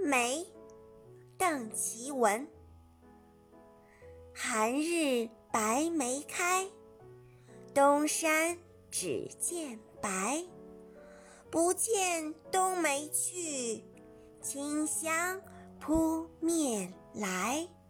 梅，邓其文。寒日白梅开，东山只见白。不见冬梅去，清香扑面来。